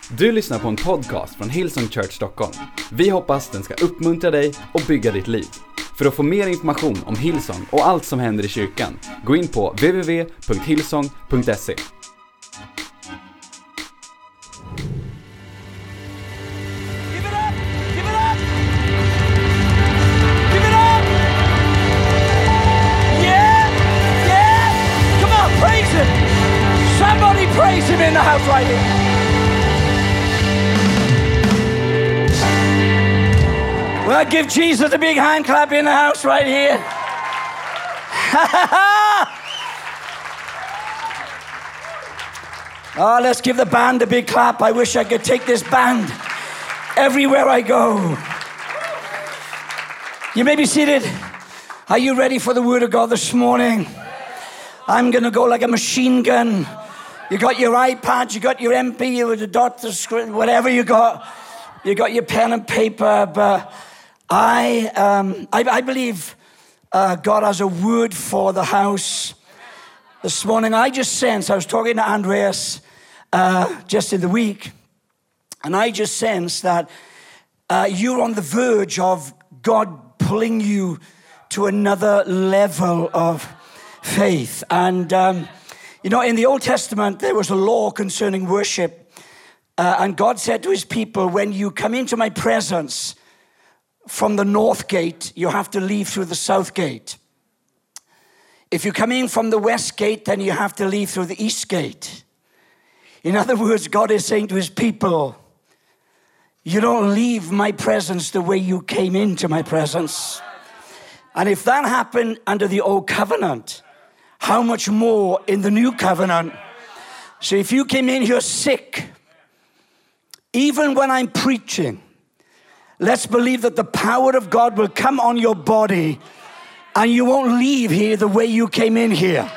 Du lyssnar på en podcast från Hillsong Church Stockholm. Vi hoppas den ska uppmuntra dig och bygga ditt liv. För att få mer information om Hillsong och allt som händer i kyrkan, gå in på www.hillsong.se. Praise him in the house right here. Well, give Jesus a big hand clap in the house right here. Oh, let's give the band a big clap. I wish I could take this band everywhere I go. You may be seated. Are you ready for the word of God this morning? I'm going to go like a machine gun. You got your iPad, you got your MP, you the doctor's screen, whatever you got your pen and paper. But I believe God has a word for the house this morning. I was talking to Andreas just in the week, and I just sensed that you're on the verge of God pulling you to another level of faith. And you know, in the Old Testament, there was a law concerning worship. And God said to his people, when you come into my presence from the north gate, you have to leave through the south gate. If you come in from the west gate, then you have to leave through the east gate. In other words, God is saying to his people, you don't leave my presence the way you came into my presence. And if that happened under the old covenant, how much more in the new covenant? So if you came in here sick, even when I'm preaching, let's believe that the power of God will come on your body and you won't leave here the way you came in here.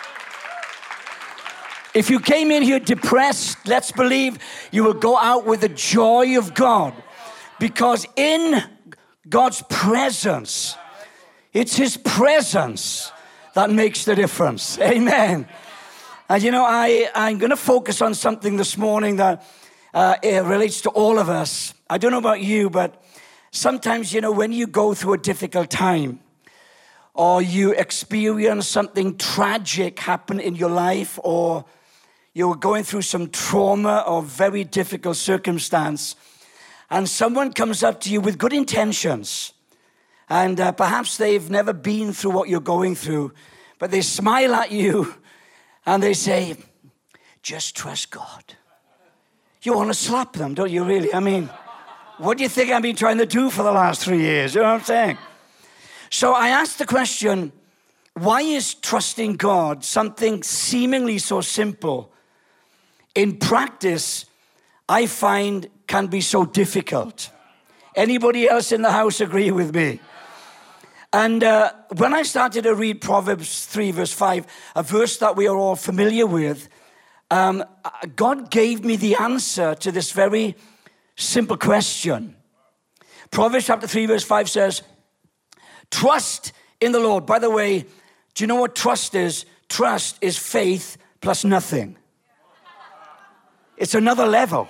If you came in here depressed, let's believe you will go out with the joy of God, because in God's presence, it's his presence that makes the difference. Amen. And you know, I'm going to focus on something this morning that it relates to all of us. I don't know about you, but sometimes, you know, when you go through a difficult time or you experience something tragic happen in your life, or you're going through some trauma or very difficult circumstance, and someone comes up to you with good intentions, and perhaps they've never been through what you're going through, but they smile at you and they say, just trust God. You want to slap them, don't you really? I mean, what do you think I've been trying to do for the last 3 years? You know what I'm saying? So I asked the question, why is trusting God something seemingly so simple? In practice, I find can be so difficult. Anybody else in the house agree with me? And when I started to read Proverbs 3 verse 5, a verse that we are all familiar with, God gave me the answer to this very simple question. Proverbs chapter 3 verse 5 says, trust in the Lord. By the way, do you know what trust is? Trust is faith plus nothing. It's another level.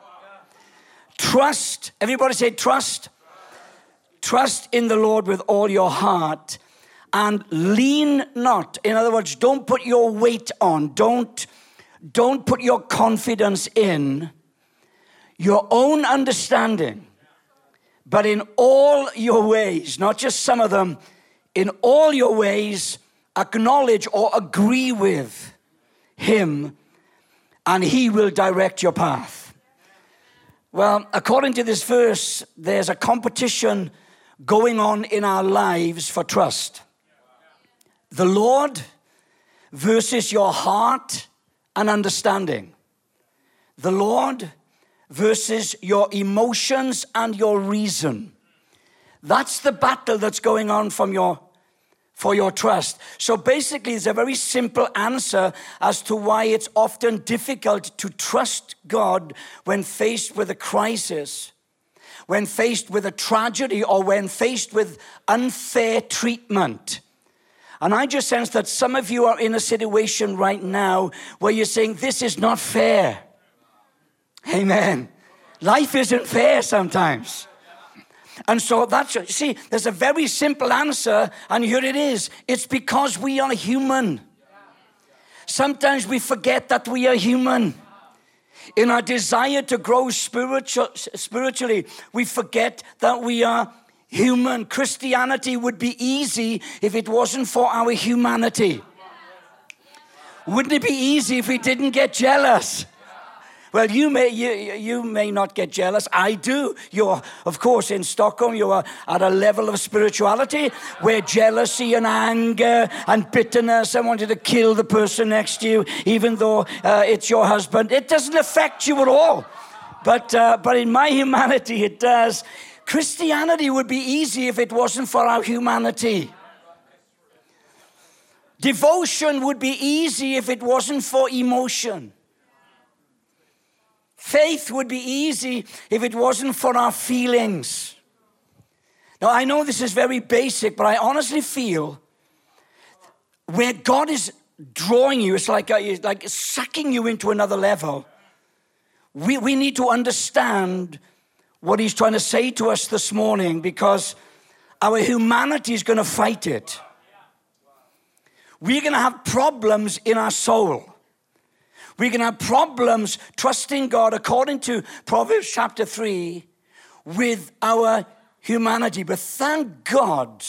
Trust, everybody say trust. Trust in the Lord with all your heart and lean not. In other words, don't put your weight on. Don't put your confidence in your own understanding, but in all your ways, not just some of them, in all your ways, acknowledge or agree with him, and he will direct your path. Well, according to this verse, there's a competition going on in our lives for trust. The Lord versus your heart and understanding. The Lord versus your emotions and your reason. That's the battle that's going on for your trust. So basically, it's a very simple answer as to why it's often difficult to trust God when faced with a crisis, when faced with a tragedy, or when faced with unfair treatment. And I just sense that some of you are in a situation right now where you're saying, this is not fair. Amen. Life isn't fair sometimes. And so see, there's a very simple answer, and here it is. It's because we are human. Sometimes we forget that we are human. In our desire to grow spiritually, we forget that we are human. Christianity would be easy if it wasn't for our humanity. Wouldn't it be easy if we didn't get jealous? Well, you may not get jealous. I do. You're, of course, in Stockholm, you are at a level of spirituality where jealousy and anger and bitterness and wanting to kill the person next to you, even though it's your husband, it doesn't affect you at all. But in my humanity, it does. Christianity would be easy if it wasn't for our humanity. Devotion would be easy if it wasn't for emotion. Faith would be easy if it wasn't for our feelings. Now, I know this is very basic, but I honestly feel where God is drawing you, it's like sucking you into another level. We need to understand what he's trying to say to us this morning, because our humanity is going to fight it. We're going to have problems in our soul. We're going to have problems trusting God, according to Proverbs chapter 3, with our humanity. But thank God,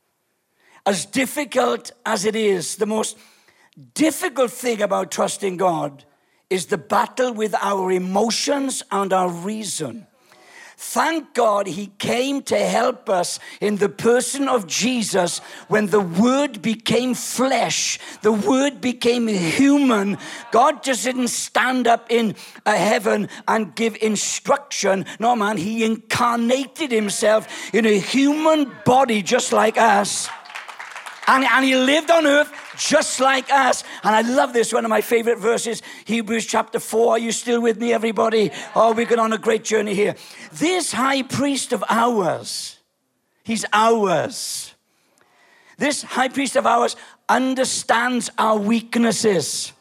as difficult as it is, the most difficult thing about trusting God is the battle with our emotions and our reason. Thank God he came to help us in the person of Jesus. When the Word became flesh, the Word became human. God just didn't stand up in heaven and give instruction. No, man, he incarnated himself in a human body just like us. And he lived on earth just like us. And I love this, one of my favorite verses, Hebrews chapter 4. Are you still with me, everybody? Oh, we're going on a great journey here. This high priest of ours, he's ours. This high priest of ours understands our weaknesses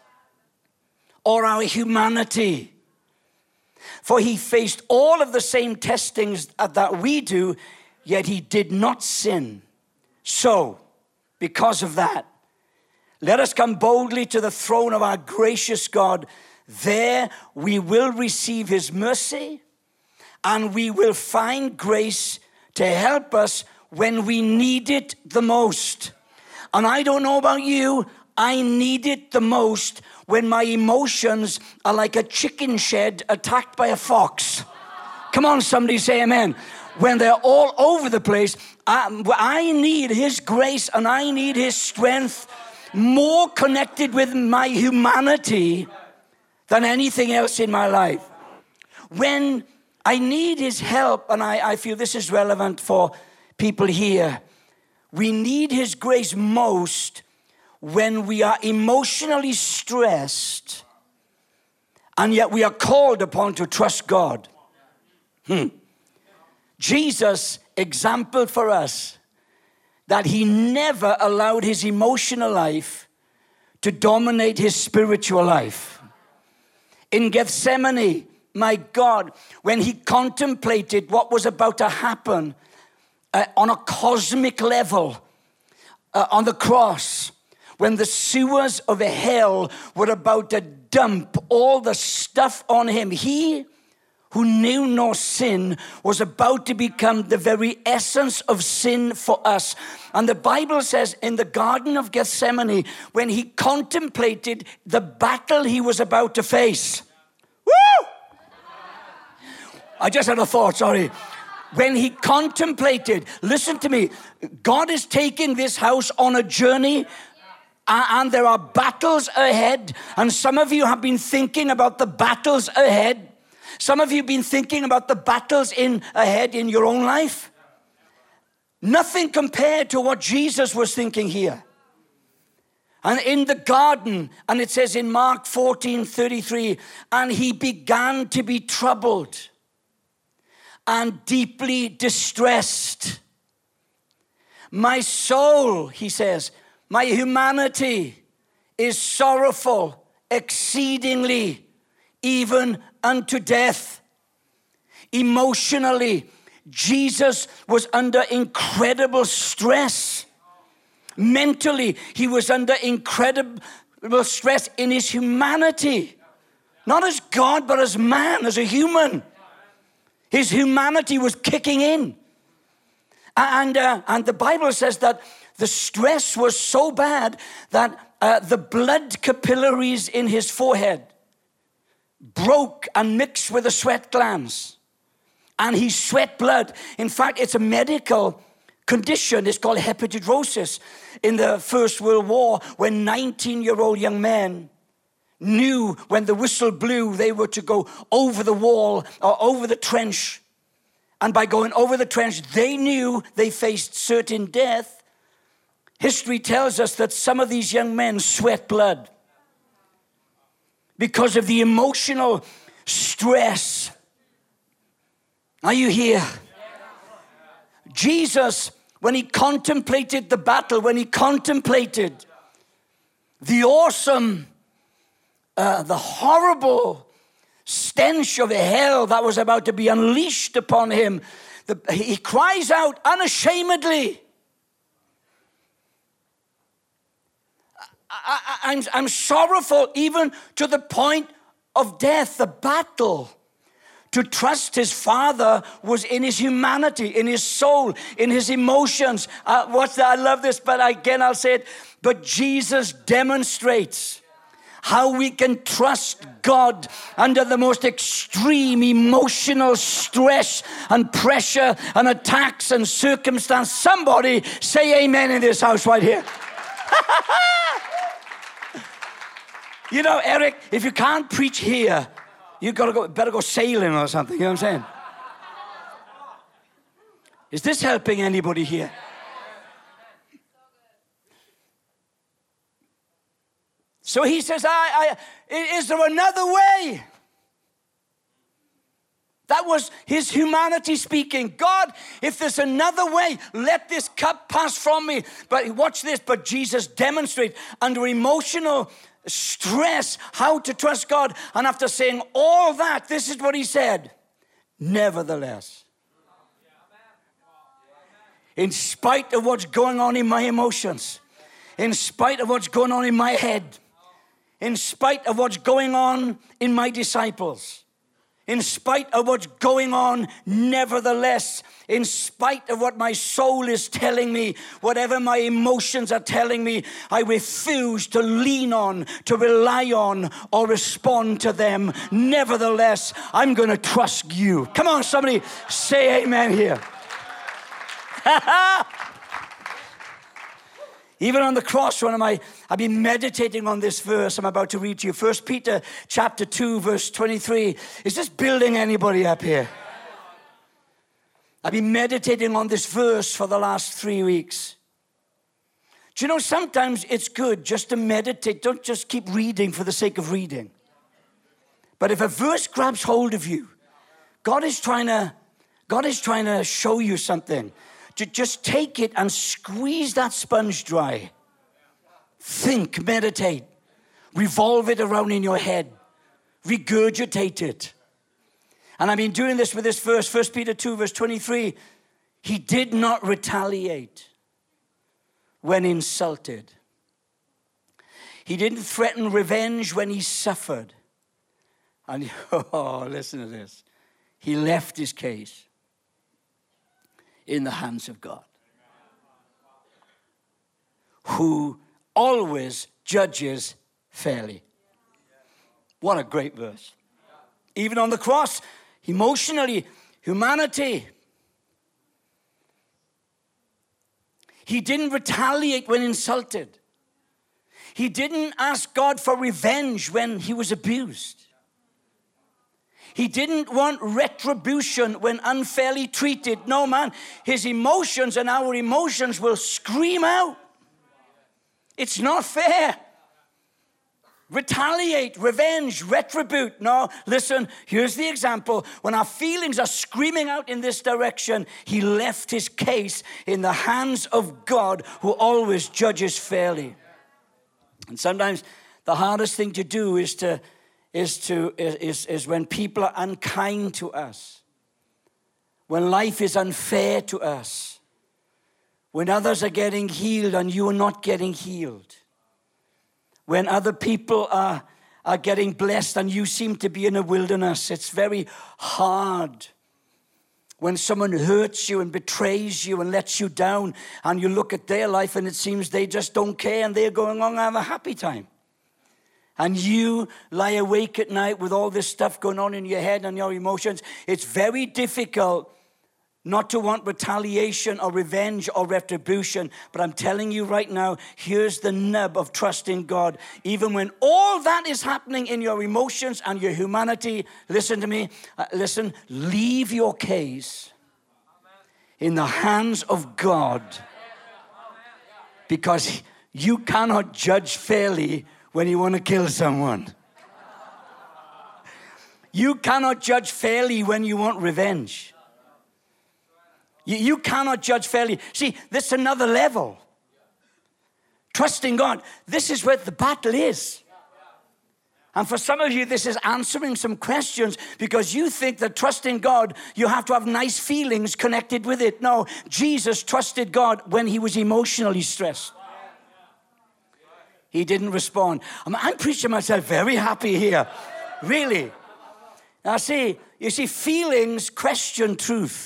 or our humanity. For he faced all of the same testings that we do, yet he did not sin. So, because of that, let us come boldly to the throne of our gracious God. There we will receive his mercy, and we will find grace to help us when we need it the most. And I don't know about you, I need it the most when my emotions are like a chicken shed attacked by a fox. Come on, somebody say amen. When they're all over the place, I need his grace and I need his strength, more connected with my humanity than anything else in my life. When I need his help, and I feel this is relevant for people here, we need his grace most when we are emotionally stressed, and yet we are called upon to trust God. Jesus exampled for us that he never allowed his emotional life to dominate his spiritual life. In Gethsemane, my God, when he contemplated what was about to happen on a cosmic level on the cross, when the sewers of hell were about to dump all the stuff on him, he who knew no sin was about to become the very essence of sin for us. And the Bible says in the Garden of Gethsemane, when he contemplated the battle he was about to face. Woo! I just had a thought, sorry. When he contemplated, listen to me, God is taking this house on a journey, and there are battles ahead. And some of you have been thinking about the battles ahead. Some of you have been thinking about the battles ahead in your own life. Nothing compared to what Jesus was thinking here. And in the garden, and it says in Mark 14:33, and he began to be troubled and deeply distressed. My soul, he says, my humanity is sorrowful exceedingly, even unto death. Emotionally, Jesus was under incredible stress. Mentally, he was under incredible stress in his humanity. Not as God, but as man, as a human. His humanity was kicking in. And the Bible says that the stress was so bad that the blood capillaries in his forehead broke and mixed with the sweat glands. And he sweat blood. In fact, it's a medical condition. It's called hepatidrosis. In the First World War, when 19-year-old young men knew when the whistle blew, they were to go over the wall or over the trench. And by going over the trench, they knew they faced certain death. History tells us that some of these young men sweat blood because of the emotional stress. Are you here? Jesus, when he contemplated the battle, when he contemplated the awesome, the horrible stench of hell that was about to be unleashed upon him, he cries out unashamedly, I'm sorrowful even to the point of death. The battle to trust his Father was in his humanity, in his soul, in his emotions. I love this, but again I'll say it. But Jesus demonstrates how we can trust God under the most extreme emotional stress and pressure and attacks and circumstance. Somebody say amen in this house right here. You know, Eric, if you can't preach here, you better go sailing or something. You know what I'm saying? Is this helping anybody here? So he says, is there another way? That was his humanity speaking. God, if there's another way, let this cup pass from me. But watch this. But Jesus demonstrated under emotional stress how to trust God. And after saying all that, this is what he said. Nevertheless, in spite of what's going on in my emotions, in spite of what's going on in my head, in spite of what's going on in my disciples, in spite of what's going on, nevertheless, in spite of what my soul is telling me, whatever my emotions are telling me, I refuse to lean on, to rely on, or respond to them. Nevertheless, I'm going to trust you. Come on, somebody say amen here. Even on the cross, I've been meditating on this verse I'm about to read to you. 1 Peter chapter 2, verse 23. Is this building anybody up here? I've been meditating on this verse for the last 3 weeks. Do you know, sometimes it's good just to meditate. Don't just keep reading for the sake of reading. But if a verse grabs hold of you, God is trying to show you something. To just take it and squeeze that sponge dry. Think, meditate, revolve it around in your head, regurgitate it. And I've been doing this with this verse, 1 Peter 2, verse 23. He did not retaliate when insulted. He didn't threaten revenge when he suffered. And, listen to this. He left his case in the hands of God, who always judges fairly. What a great verse. Even on the cross, emotionally, humanity. He didn't retaliate when insulted. He didn't ask God for revenge when he was abused. He didn't want retribution when unfairly treated. No, man, his emotions and our emotions will scream out. It's not fair. Retaliate, revenge, retribute. No, listen, here's the example. When our feelings are screaming out in this direction, he left his case in the hands of God, who always judges fairly. And sometimes the hardest thing to do is to is when people are unkind to us, when life is unfair to us, when others are getting healed and you are not getting healed, when other people are getting blessed and you seem to be in a wilderness. It's very hard when someone hurts you and betrays you and lets you down, and you look at their life and it seems they just don't care and they're going on and have a happy time. And you lie awake at night with all this stuff going on in your head and your emotions. It's very difficult not to want retaliation or revenge or retribution. But I'm telling you right now, here's the nub of trusting God. Even when all that is happening in your emotions and your humanity, listen to me, leave your case in the hands of God. Because you cannot judge fairly when you want to kill someone. You cannot judge fairly when you want revenge. You cannot judge fairly. See, this is another level. Trusting God. This is where the battle is. And for some of you, this is answering some questions because you think that trusting God, you have to have nice feelings connected with it. No, Jesus trusted God when he was emotionally stressed. He didn't respond. I'm preaching myself very happy here. Really. Now you see, feelings question truth.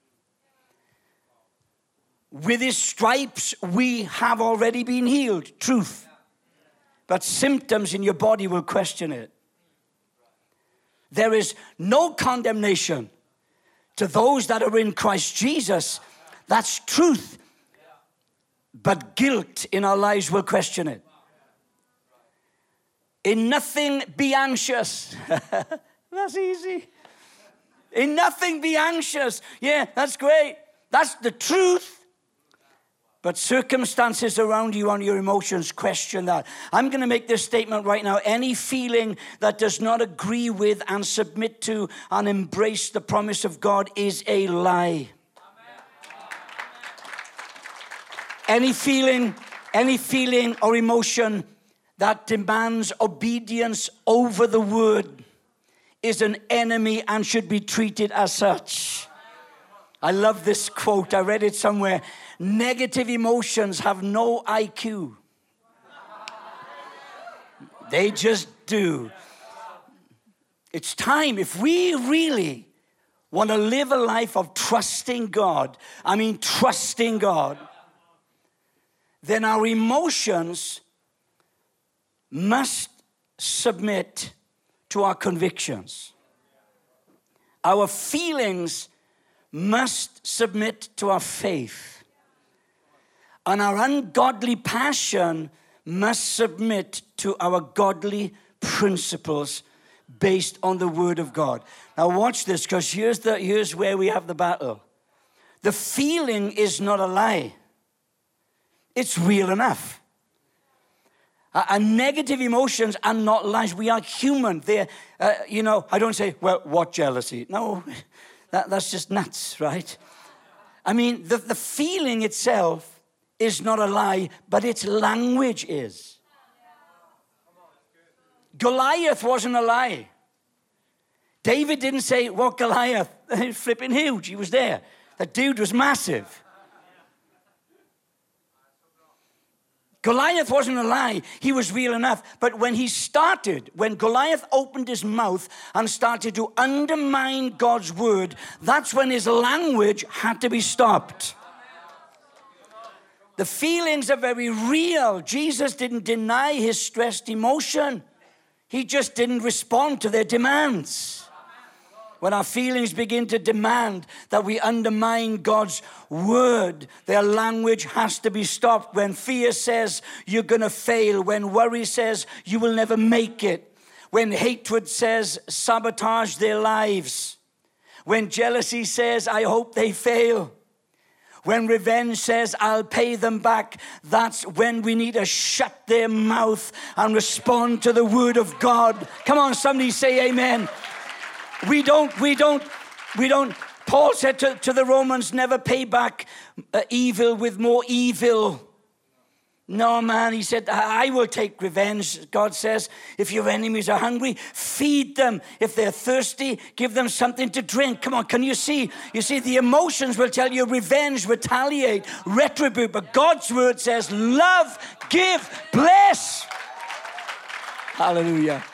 With his stripes, we have already been healed. Truth. But symptoms in your body will question it. There is no condemnation to those that are in Christ Jesus. That's truth. But guilt in our lives will question it. In nothing be anxious. That's easy. In nothing be anxious. Yeah, that's great. That's the truth. But circumstances around you and your emotions question that. I'm going to make this statement right now. Any feeling that does not agree with and submit to and embrace the promise of God is a lie. Any feeling or emotion that demands obedience over the word is an enemy and should be treated as such. I love this quote. I read it somewhere. Negative emotions have no IQ. They just do. It's time, if we really want to live a life of trusting God, trusting God, then our emotions must submit to our convictions. Our feelings must submit to our faith. And our ungodly passion must submit to our godly principles based on the word of God. Now watch this, because here's where we have the battle. The feeling is not a lie. It's real enough. And negative emotions are not lies. We are human. They're, I don't say, well, what jealousy? No, that's just nuts, right? The feeling itself is not a lie, but its language is. Goliath wasn't a lie. David didn't say, what Goliath? Flipping huge. He was there. That dude was massive. Goliath wasn't a lie. He was real enough. But when Goliath opened his mouth and started to undermine God's word, that's when his language had to be stopped. The feelings are very real. Jesus didn't deny his stressed emotion. He just didn't respond to their demands. When our feelings begin to demand that we undermine God's word, their language has to be stopped. When fear says you're going to fail, when worry says you will never make it, when hatred says sabotage their lives, when jealousy says I hope they fail, when revenge says I'll pay them back, that's when we need to shut their mouth and respond to the word of God. Come on, somebody say amen. We don't. Paul said to the Romans, never pay back evil with more evil. No, man, he said, I will take revenge. God says, if your enemies are hungry, feed them. If they're thirsty, give them something to drink. Come on, can you see? You see, the emotions will tell you revenge, retaliate, retribute. But God's word says, love, give, bless. Hallelujah.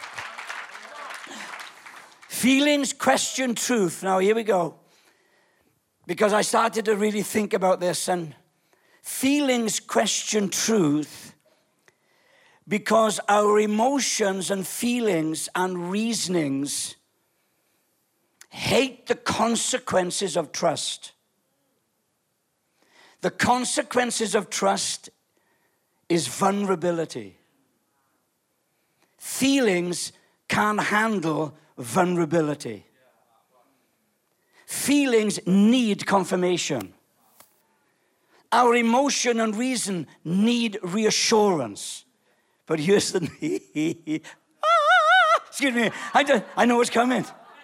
Feelings question truth. Now, here we go. Because I started to really think about this, and feelings question truth because our emotions and feelings and reasonings hate the consequences of trust. The consequences of trust is vulnerability. Feelings can't handle vulnerability. Feelings need confirmation. Our emotion and reason need reassurance. But here's the excuse me, I know what's coming.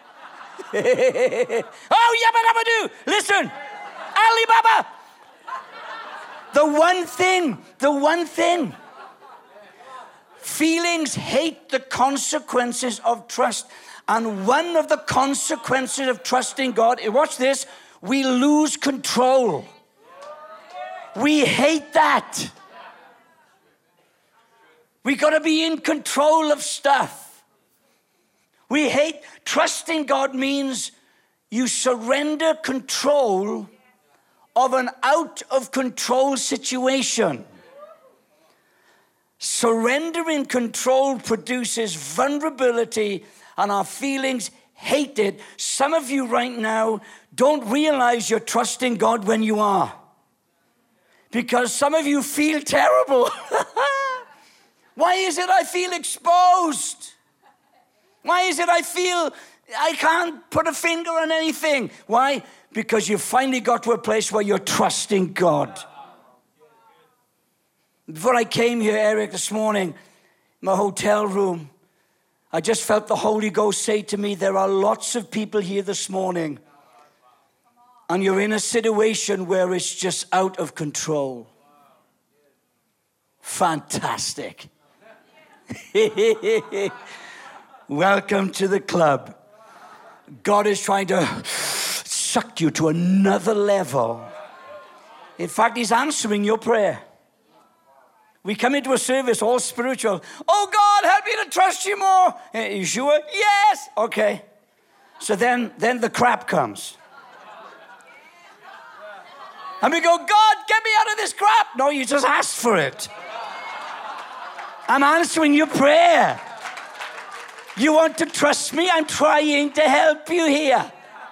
Oh, yabba dabba do. Listen, Alibaba. The one thing. Feelings hate the consequences of trust. And one of the consequences of trusting God, watch this, we lose control. We hate that. We got to be in control of stuff. We hate, trusting God means you surrender control of an out of control situation. Surrendering control produces vulnerability, and our feelings hate it. Some of you right now don't realize you're trusting God when you are. Because some of you feel terrible. Why is it I feel exposed? Why is it I feel I can't put a finger on anything? Why? Because you finally got to a place where you're trusting God. Before I came here, Eric, this morning, in my hotel room, I just felt the Holy Ghost say to me, there are lots of people here this morning, and you're in a situation where it's just out of control. Fantastic. Welcome to the club. God is trying to suck you to another level. In fact, He's answering your prayer. We come into a service all spiritual. Oh, God, help me to trust you more. Are you sure? Yes. Okay. So then the crap comes. And we go, God, get me out of this crap. No, you just asked for it. I'm answering your prayer. You want to trust me? I'm trying to help you here.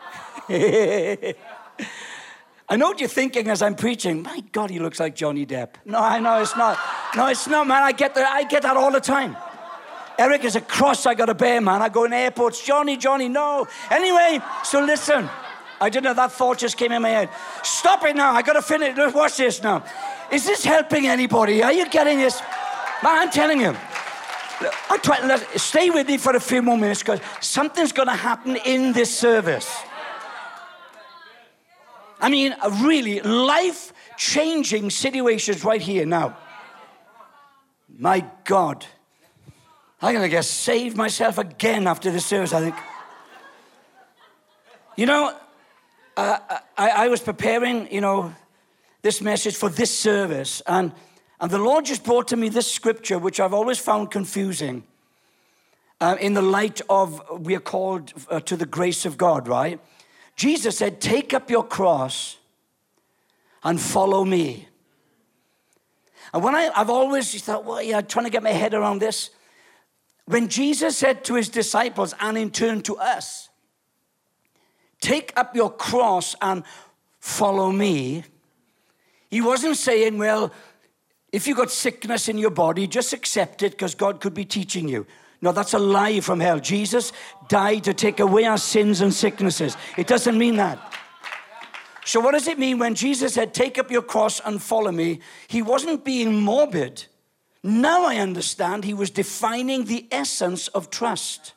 I know what you're thinking as I'm preaching. My God, he looks like Johnny Depp. No, I know it's not. No, it's not, man. I get that all the time. Eric is a cross I got to bear, man. I go in airports. Johnny, no. Anyway, so listen. I didn't know, that thought just came in my head. Stop it now. I got to finish. Watch this now. Is this helping anybody? Are you getting this? Man, I'm telling you. Stay with me for a few more minutes because something's going to happen in this service. I mean, really life-changing situations right here now. My God. I'm going to get saved myself again after this service, I think. You know, I was preparing, this message for this service, and the Lord just brought to me this scripture, which I've always found confusing in the light of we are called to the grace of God, right? Jesus said, take up your cross and follow me. And when I've always thought, well, yeah, I'm trying to get my head around this. When Jesus said to his disciples, and in turn to us, take up your cross and follow me, he wasn't saying, well, if you got sickness in your body, just accept it because God could be teaching you. No, that's a lie from hell. Jesus died to take away our sins and sicknesses. It doesn't mean that. So what does it mean when Jesus said, take up your cross and follow me? He wasn't being morbid. Now I understand he was defining the essence of trust.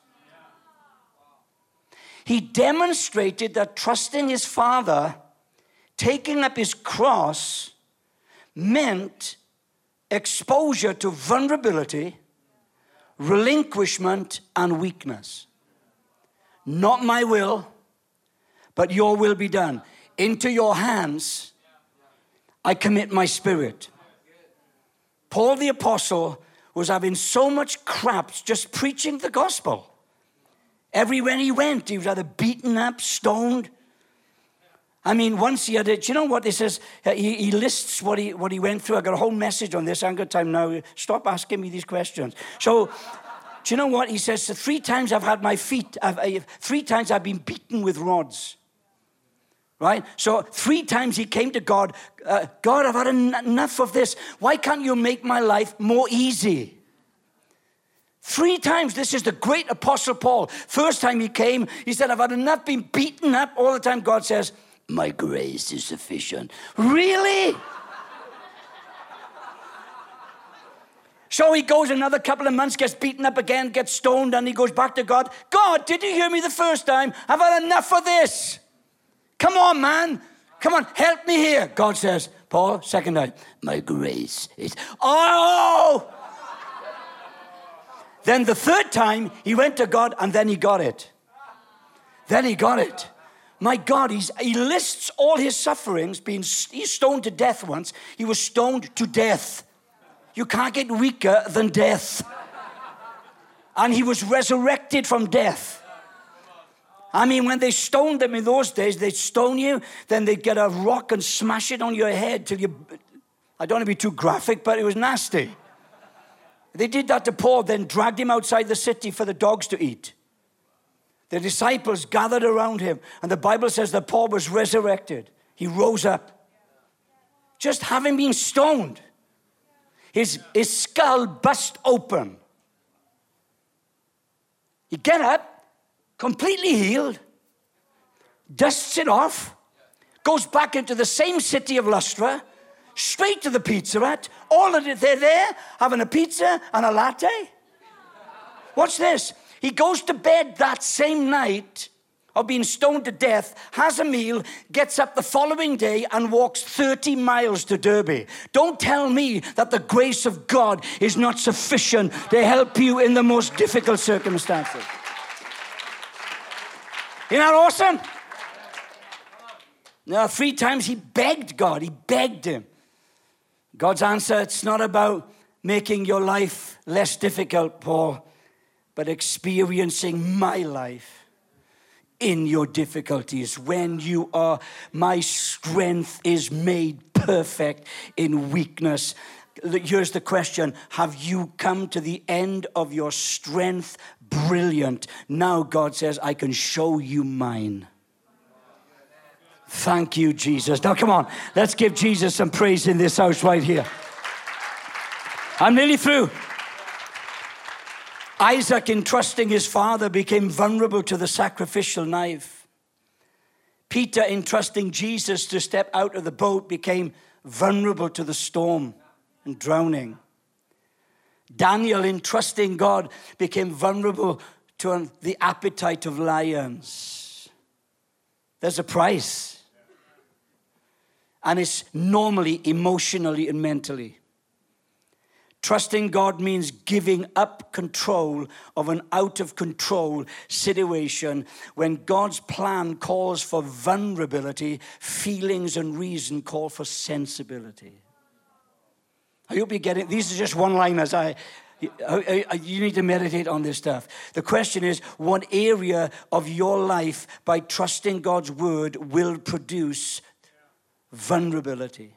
He demonstrated that trusting his Father, taking up his cross, meant exposure to vulnerability, relinquishment, and weakness. Not my will, but your will be done. Into your hands, I commit my spirit. Paul the Apostle was having so much crap just preaching the gospel. Everywhere he went, he was either beaten up, stoned. I mean, once he had it, do you know what he says? He lists what he went through. I got a whole message on this. I haven't got time now. Stop asking me these questions. So, do you know what? He says, 3 times I've had my feet, 3 times I've been beaten with rods. Right? So 3 times he came to God. God, I've had enough of this. Why can't you make my life more easy? 3 times. This is the great Apostle Paul. First time he came, he said, I've had enough being beaten up all the time. God says, my grace is sufficient. Really? So he goes another couple of months, gets beaten up again, gets stoned, and he goes back to God. God, did you hear me the first time? I've had enough of this. Come on, man. Come on, help me here. God says, Paul, second time, my grace is... Oh! Then the third time, he went to God, and then he got it. Then he got it. My God, he lists all his sufferings. He's stoned to death once. He was stoned to death. You can't get weaker than death. And he was resurrected from death. I mean, when they stoned them in those days, they'd stone you, then they'd get a rock and smash it on your head till you... I don't want to be too graphic, but it was nasty. They did that to Paul, then dragged him outside the city for the dogs to eat. The disciples gathered around him, and the Bible says that Paul was resurrected. He rose up. Just having been stoned. His skull burst open. He get up, completely healed, dusts it off, goes back into the same city of Lystra, straight to the Pizza Hut. All of it, they're there having a pizza and a latte. Watch this. He goes to bed that same night of being stoned to death, has a meal, gets up the following day and walks 30 miles to Derby. Don't tell me that the grace of God is not sufficient to help you in the most difficult circumstances. Isn't that awesome? Now, 3 times he begged God. He begged him. God's answer, it's not about making your life less difficult, Paul, but experiencing my life in your difficulties. When you are, my strength is made perfect in weakness. Here's the question. Have you come to the end of your strength? Brilliant. Now God says, I can show you mine. Thank you, Jesus. Now, come on. Let's give Jesus some praise in this house right here. I'm nearly through. Isaac, in trusting his father, became vulnerable to the sacrificial knife. Peter, in trusting Jesus to step out of the boat, became vulnerable to the storm and drowning. Daniel, in trusting God, became vulnerable to the appetite of lions. There's a price. And it's normally, emotionally, and mentally. Trusting God means giving up control of an out-of-control situation. When God's plan calls for vulnerability, feelings and reason call for sensibility. I hope you get it. These are just one-liners. You need to meditate on this stuff. The question is, what area of your life, by trusting God's word, will produce vulnerability?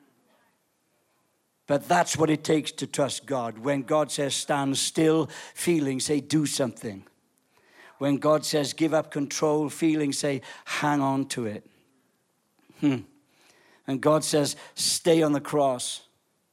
But that's what it takes to trust God. When God says stand still, feelings say do something. When God says give up control, feelings say hang on to it. And God says stay on the cross.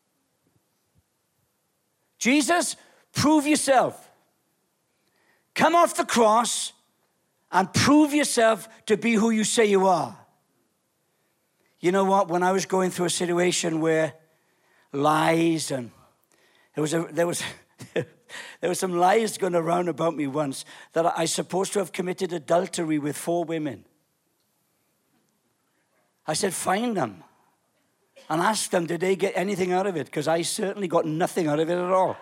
Jesus, prove yourself. Come off the cross and prove yourself to be who you say you are. You know what? When I was going through a situation where lies and there was some lies going around about me once that I supposed to have committed adultery with 4 women. I said, find them. and ask them, did they get anything out of it? Because I certainly got nothing out of it at all.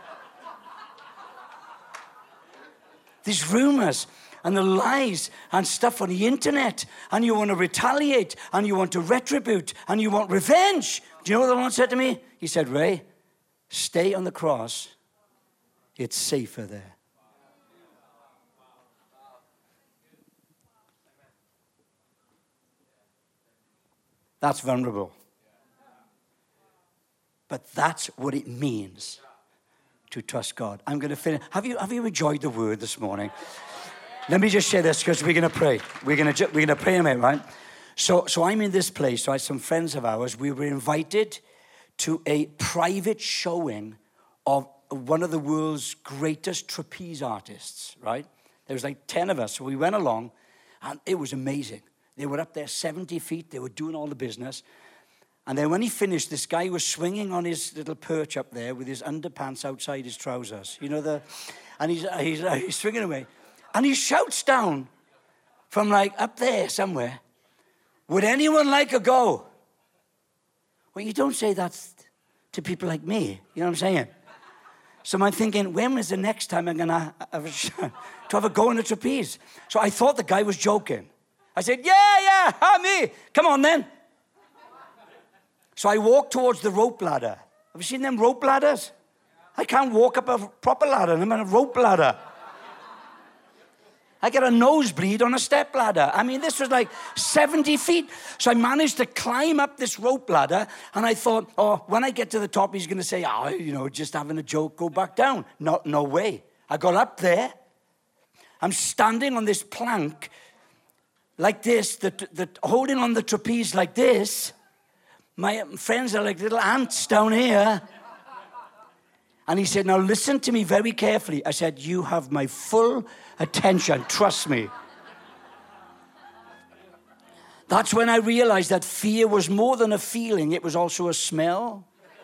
These rumors and the lies and stuff on the internet, and you want to retaliate, and you want to retribute, and you want revenge. Do you know what the Lord said to me? He said, Ray, stay on the cross. It's safer there. That's vulnerable. But that's what it means to trust God. I'm going to finish. Have you enjoyed the word this morning? Let me just share this because we're going to pray. We're going to pray in a minute, right? So I'm in this place, right? Some friends of ours, we were invited to a private showing of one of the world's greatest trapeze artists, right? There was like 10 of us. So we went along, and it was amazing. They were up there 70 feet. They were doing all the business. And then when he finished, this guy was swinging on his little perch up there with his underpants outside his trousers. You know, and he's swinging away. And he shouts down from like up there somewhere, would anyone like a go? Well, you don't say that to people like me. You know what I'm saying? So I'm thinking, when is the next time I'm going to have a go in a trapeze? So I thought the guy was joking. I said, yeah, me. Come on then. So I walked towards the rope ladder. Have you seen them rope ladders? I can't walk up a proper ladder. I'm on a rope ladder. I get a nosebleed on a step ladder. I mean, this was like 70 feet. So I managed to climb up this rope ladder, and I thought, oh, when I get to the top, he's going to say, just having a joke, go back down. No way. I got up there. I'm standing on this plank like this, holding on the trapeze like this. My friends are like little ants down here. And he said, now listen to me very carefully. I said, you have my full attention. Trust me. That's when I realized that fear was more than a feeling. It was also a smell.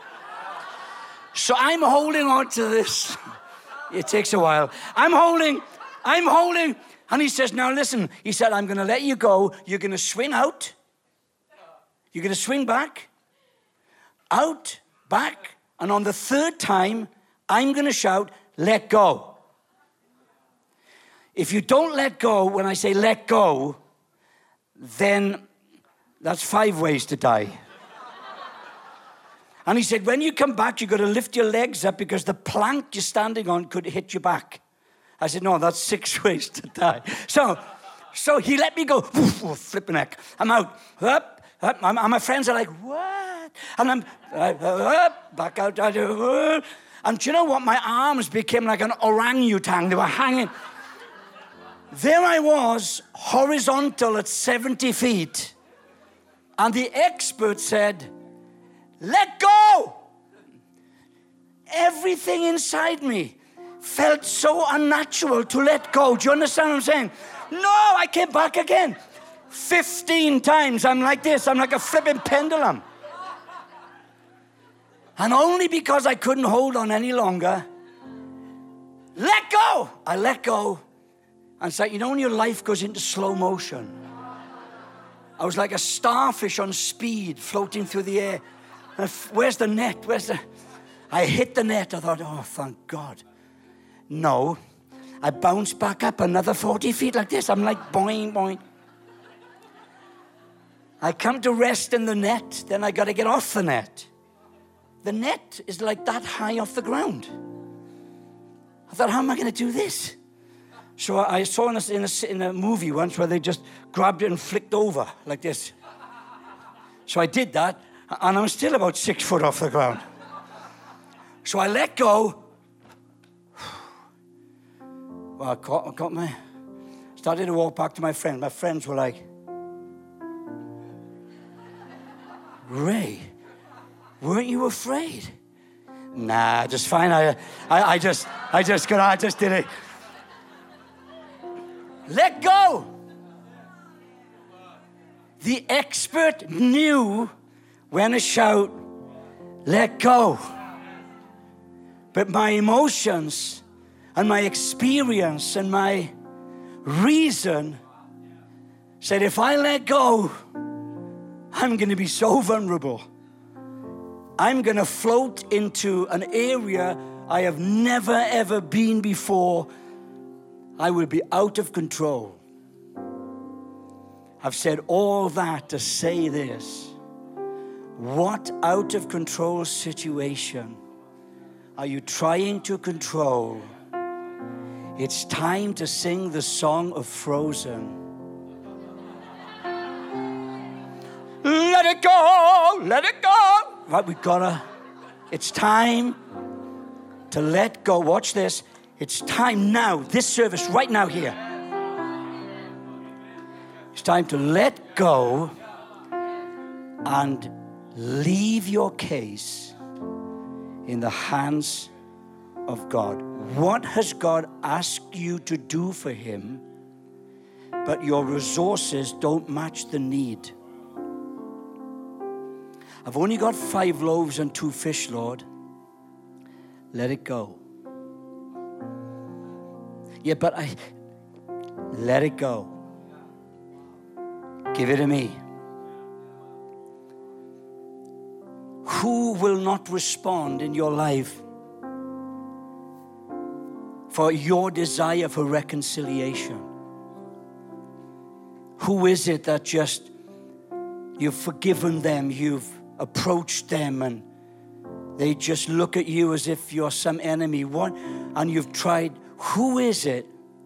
So I'm holding on to this. It takes a while. I'm holding. And he says, now listen. He said, I'm going to let you go. You're going to swing out. You're going to swing back. Out, back. And on the third time, I'm going to shout, let go. If you don't let go, when I say let go, then that's 5 ways to die. And he said, when you come back, you've got to lift your legs up because the plank you're standing on could hit your back. I said, no, that's 6 ways to die. So he let me go. Flipping heck. I'm out. Up. And my friends are like, what? And I'm back out. And do you know what? My arms became like an orangutan. They were hanging. There I was, horizontal at 70 feet. And the expert said, let go. Everything inside me felt so unnatural to let go. Do you understand what I'm saying? No, I came back again. 15 times. I'm like this. I'm like a flipping pendulum. And only because I couldn't hold on any longer, let go. I let go. And it's like, you know when your life goes into slow motion? I was like a starfish on speed floating through the air. And where's the net? I hit the net. I thought, oh, thank God. No. I bounced back up another 40 feet like this. I'm like, boing, boing. I come to rest in the net, then I got to get off the net. The net is like that high off the ground. I thought, how am I going to do this? So I saw in a movie once where they just grabbed it and flicked over like this. So I did that, and I'm still about 6 foot off the ground. So I let go. Well, I started to walk back to my friend. My friends were like, Ray, weren't you afraid? Nah, just fine. I just did it. Let go. The expert knew when to shout, let go. But my emotions and my experience and my reason said, if I let go, I'm going to be so vulnerable. I'm going to float into an area I have never ever been before. I will be out of control. I've said all that to say this. What out of control situation are you trying to control? It's time to sing the song of Frozen. Let it go, let it go. Right, it's time to let go. Watch this. It's time now, this service right now here. It's time to let go and leave your case in the hands of God. What has God asked you to do for him, but your resources don't match the need? I've only got 5 loaves and 2 fish, Lord. Let it go. Yeah, but let it go. Give it to me. Who will not respond in your life for your desire for reconciliation? Who is it that just, you've forgiven them, you've approached them, and they just look at you as if you're some enemy? What? And you've tried. Who is it?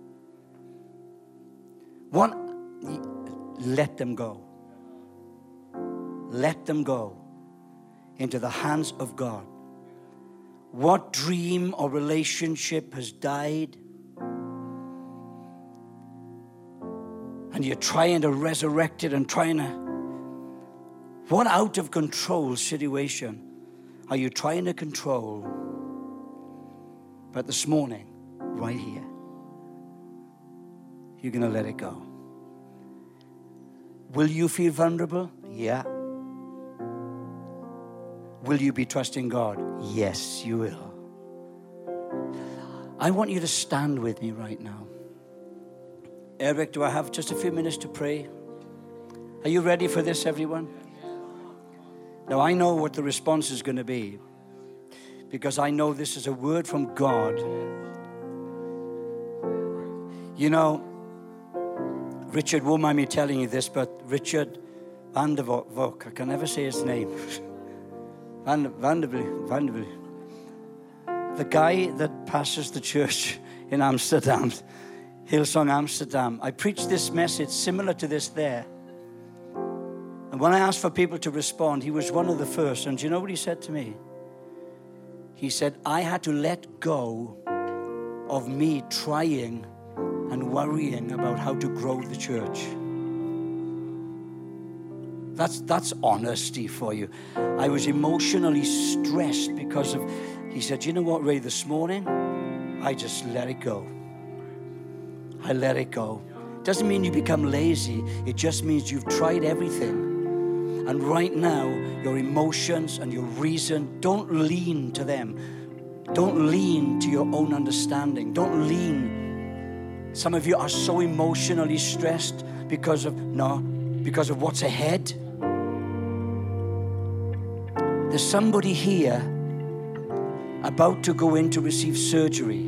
What? Let them go. Let them go into the hands of God. What dream or relationship has died? And you're trying to resurrect it and trying to... What out of control situation are you trying to control? But this morning, right here, you're going to let it go. Will you feel vulnerable? Yeah. Will you be trusting God? Yes, you will. I want you to stand with me right now. Eric, do I have just a few minutes to pray? Are you ready for this, everyone? Now, I know what the response is going to be, because I know this is a word from God. You know, Richard won't mind me telling you this, but Richard van der Valk, I can never say his name. Vanderbilt. The guy that pastors the church in Amsterdam, Hillsong Amsterdam. I preached this message similar to this there. And when I asked for people to respond, he was one of the first. And do you know what he said to me? He said, I had to let go of me trying and worrying about how to grow the church. That's honesty for you. I was emotionally stressed because of, he said, you know what, Ray, this morning, I just let it go. I let it go. Doesn't mean you become lazy. It just means you've tried everything. And right now, your emotions and your reason, don't lean to them. Don't lean to your own understanding. Don't lean. Some of you are so emotionally stressed because of what's ahead. There's somebody here about to go in to receive surgery,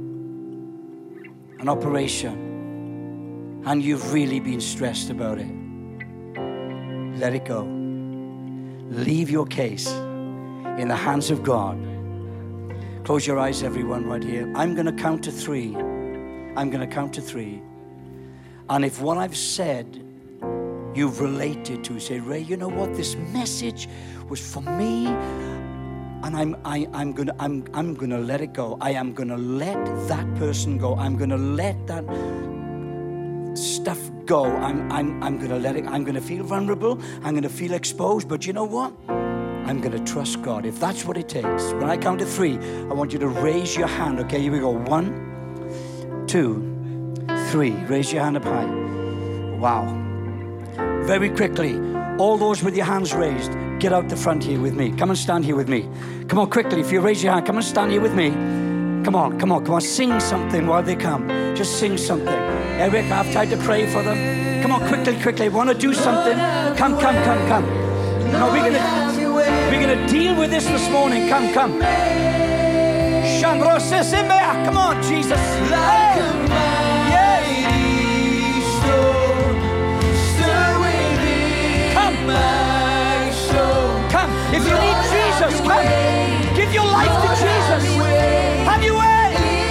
an operation, and you've really been stressed about it. Let it go. Leave your case in the hands of God. Close your eyes, everyone, right here. I'm going to count to 3. I'm going to count to 3. And if what I've said you've related to, say, Ray, you know what? This message was for me, and I'm gonna let it go. I am gonna let that person go. I'm gonna let that stuff go. I'm gonna let it. I'm gonna feel vulnerable. I'm gonna feel exposed. But you know what? I'm gonna trust God. If that's what it takes. When I count to 3, I want you to raise your hand. Okay, here we go. 1, 2, 3. Raise your hand up high. Wow. Very quickly, all those with your hands raised, get out the front here with me. Come and stand here with me. Come on, quickly. If you raise your hand, come and stand here with me. Come on. Sing something while they come. Just sing something. Eric, I have time to pray for them. Come on, quickly. Want to do something? Come. No, we're gonna going to deal with this morning. Come. Come on, Jesus. Like a mighty storm, stir within my soul. Come. If you need Jesus, come. Give your life to Jesus. Have your way.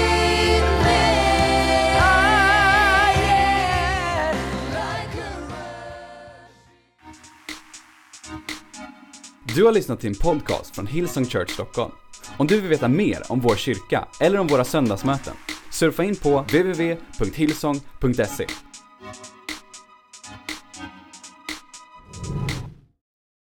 Du har lyssnat till en podcast från Hillsong Church Stockholm. Om du vill veta mer om vår kyrka eller om våra söndagsmöten, surfa in på www.hillsong.se.